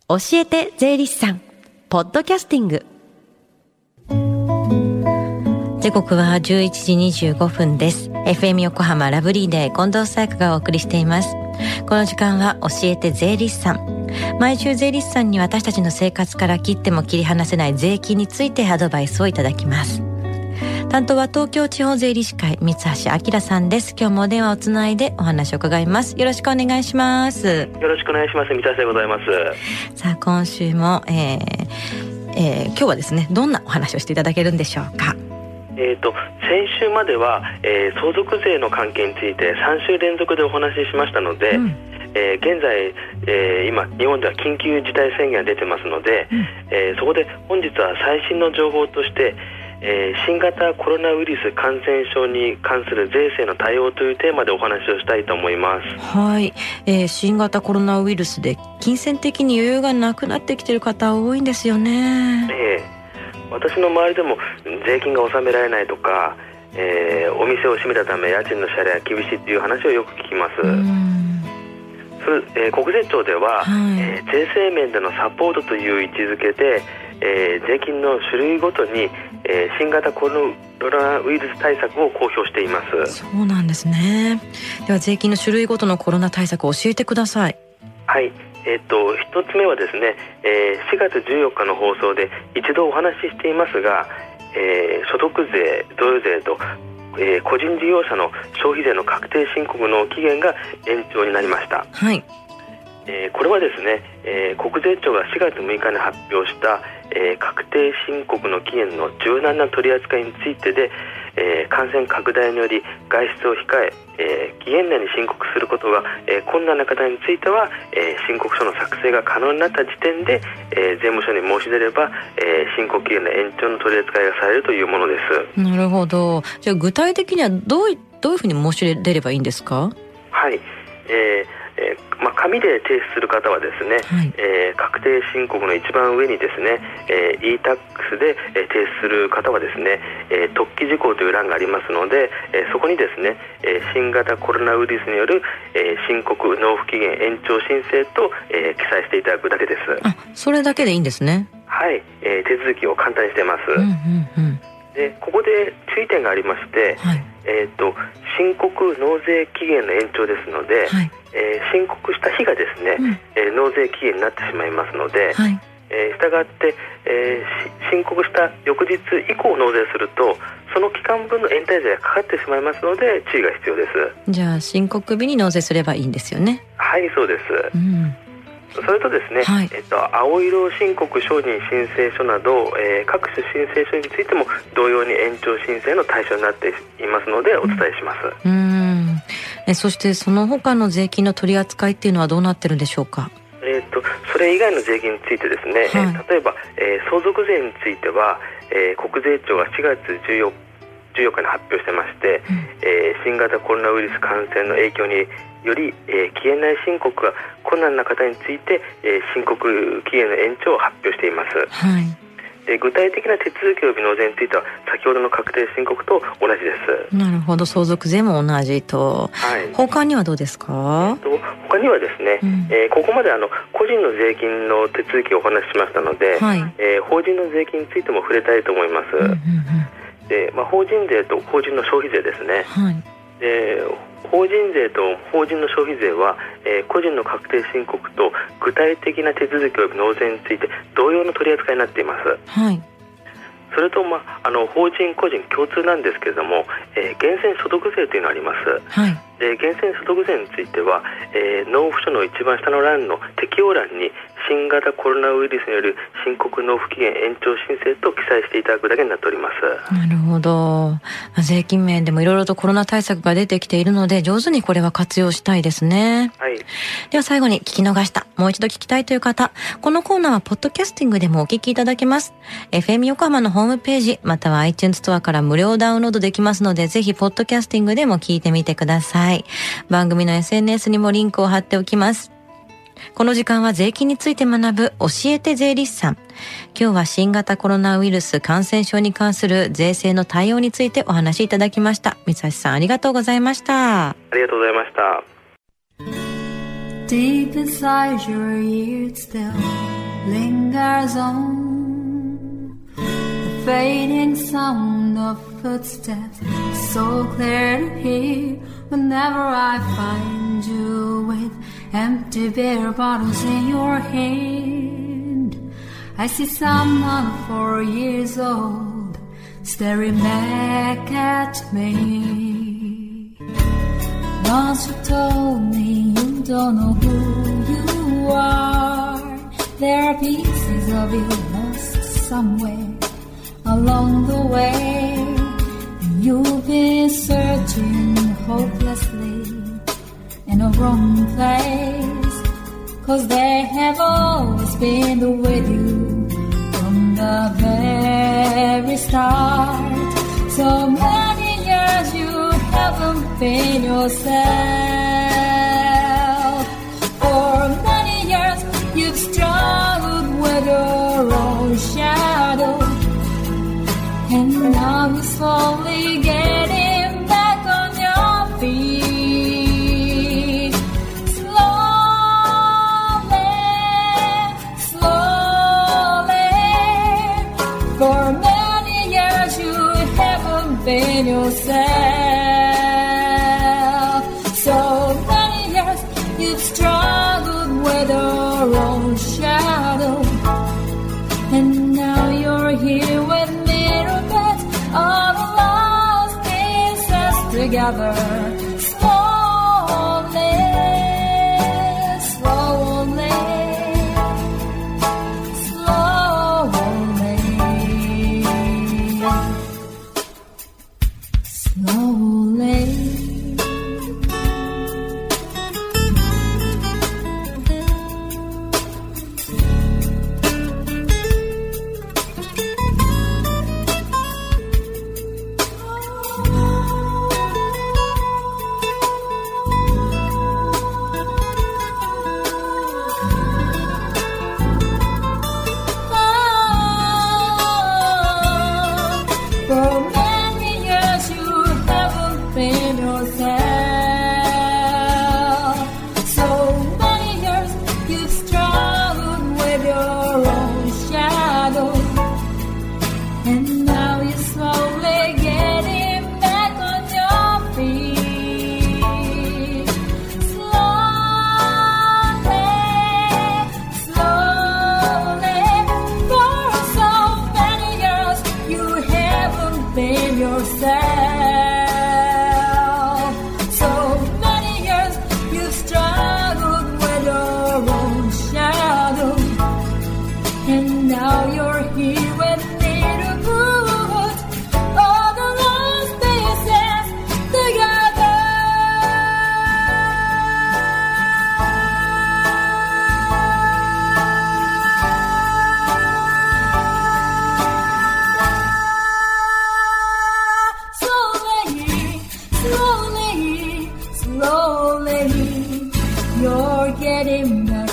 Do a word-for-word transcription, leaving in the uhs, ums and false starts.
教えて税理士さんポッドキャスティング。時刻はじゅういちじにじゅうごふんです。 エフエム 横浜ラブリーデー近藤紗友香がお送りしています。この時間は教えて税理士さん。毎週税理士さんに私たちの生活から切っても切り離せない税金についてアドバイスをいただきます。担当は東京地方税理士会三橋明さんです。今日もお電話をつないでお話を伺います。よろしくお願いします。 よろしくお願いします。三橋でございます。 さあ今週も、えーえー、今日はですね、どんなお話をしていただけるんでしょうか。 えーと、先週までは、えー、相続税の関係についてさん週連続でお話ししましたので、うんえー、現在、えー、今日本では緊急事態宣言が出てますので、うんえー、そこで本日は最新の情報としてえー、新型コロナウイルス感染症に関する税制の対応というテーマでお話をしたいと思います。 はい、えー、新型コロナウイルスで金銭的に余裕がなくなってきている方多いんですよね。 えー、私の周りでも税金が納められないとか、えー、お店を閉めたため家賃の支払いが厳しいという話をよく聞きます。うんそれ、えー、国税庁では、はいえー、税制面でのサポートという位置づけで、えー、税金の種類ごとに、えー、新型コロナウイルス対策を公表しています。 そうなんですね。では税金の種類ごとのコロナ対策を教えてください。 はい、えー、とひとつめはですね、えー、しがつじゅうよっかの放送で一度お話ししていますが、えー、所得税、贈与税とえー、個人事業者の消費税の確定申告の期限が延長になりました。 はいえー、これはですね、えー、国税庁がしがつむいかに発表した、えー、確定申告の期限の柔軟な取り扱いについてで、えー、感染拡大により外出を控ええー、期限内に申告することが、えー、困難な方については、えー、申告書の作成が可能になった時点で、えー、税務署に申し出れば、えー、申告期限の延長の取り扱いがされるというものです。 なるほど。じゃあ具体的にはどうい、どういうふうに申し出ればいいんですか。 はい、えーえーまあ、紙で提出する方はですね、はいえー、確定申告の一番上にですね、えー、イータックス で、えー、提出する方はですね、えー、特記事項という欄がありますので、えー、そこにですね、えー、新型コロナウイルスによる、えー、申告納付期限延長申請と、えー、記載していただくだけです。 あ、それだけでいいんですね。 はい、えー、手続きを簡単にしています。うんうんうんでここで注意点がありまして、はいえー、と申告納税期限の延長ですので、はいえー、申告した日がですね、うんえー、納税期限になってしまいますので、はいえー、したがって、えー、申告した翌日以降納税するとその期間分の延滞税がかかってしまいますので注意が必要です。 じゃあ申告日に納税すればいいんですよね。 はいそうです、うんそれとですね、はいえっと、青色申告承認申請書など、えー、各種申請書についても同様に延長申請の対象になっていますのでお伝えします。 うんうんえそしてその他の税金の取り扱いっていうのはどうなってるんでしょうか。 えー、とそれ以外の税金についてですね、はいえー、例えば、えー、相続税については、えー、国税庁がしがつじゅうよっかに発表してまして、うんえー、新型コロナウイルス感染の影響により、えー、期限内申告が困難な方について、えー、申告期限の延長を発表しています。はいで具体的な手続き及び納税については先ほどの確定申告と同じです。 なるほど、相続税も同じと、はい、他にはどうですか。 えー、と他にはですね、うんえー、ここまであの個人の税金の手続きをお話ししましたので、はいえー、法人の税金についても触れたいと思います。うんうんうんでまあ、法人税と法人の消費税ですね、はいで法人税と法人の消費税は、えー、個人の確定申告と具体的な手続き及び納税について同様の取り扱いになっています。はいそれと、まあ、あの法人個人共通なんですけれども、えー、源泉所得税というのがあります。はいで源泉所得税については、えー、納付書の一番下の欄の適用欄に新型コロナウイルスによる申告納付期限延長申請と記載していただくだけになっております。 なるほど。税金面でもいろいろとコロナ対策が出てきているので上手にこれは活用したいですね。はい、では最後に聞き逃したもう一度聞きたいという方、このコーナーはポッドキャスティングでもお聞きいただけます。 エフエム 横浜のホームページまたは iTunes ストアから無料ダウンロードできますのでぜひポッドキャスティングでも聞いてみてください。番組の エスエヌエス にもリンクを貼っておきます。この時間は税金について学ぶ教えて税理士さん。今日は新型コロナウイルス感染症に関する税制の対応についてお話しいただきました。三橋さんありがとうございました。 ありがとうございました。 Deep inside your ear it still lingers on the fading sound of footsteps, so clear to hear whenever I find you with empty beer bottles in your hand. I see someone four years old staring back at me. Once you told me you don't know who you are. There are pieces of you lost somewhere along the way. You've been searching hopelessly in a wrong place, 'cause they have always been with you from the very start. So many years you haven't been yourself. For many years you've struggled with your own shadow, and now you're slowly getting back on your feet. Slowly, slowly. For many years you haven't been yourself. So many years you've struggled with your own shadow, and now you're here with me to put all the lost pieces together. Slowly, slowly, slowly, slowly. Slowly, you're getting better.